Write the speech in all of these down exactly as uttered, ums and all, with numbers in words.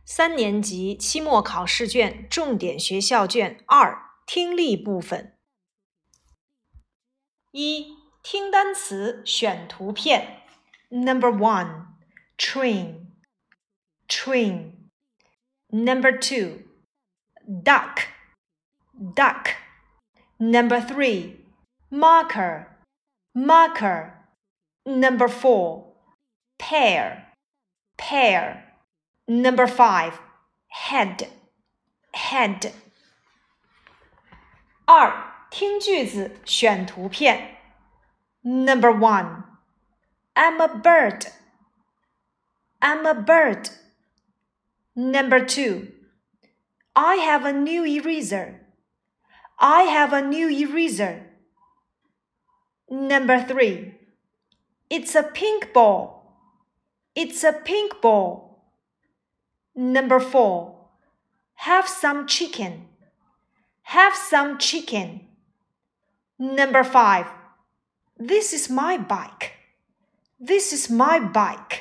三年级期末考试卷重点学校卷二听力部分。一、听单词，选图片。Number one, train, train. Number two, duck, duck. Number three, marker, marker. Number four, pear, pear.Number five, head, head. 二、听句子，选图片。Number one, I'm a bird, I'm a bird. Number two, I have a new eraser, I have a new eraser. Number three, it's a pink ball, it's a pink ball.Number four, have some chicken, have some chicken. Number five, this is my bike, this is my bike.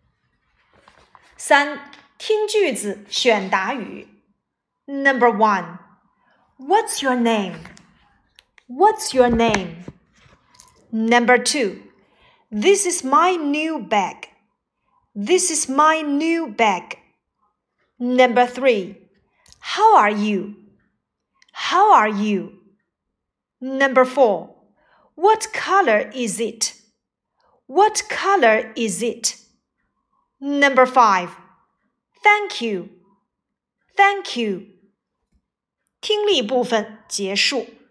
三、听句子，选答语。Number one, what's your name? What's your name? Number two, this is my new bag, this is my new bag.Number three, how are you? How are you? Number four, what color is it? What color is it? Number five, thank you. Thank you. 听力部分结束。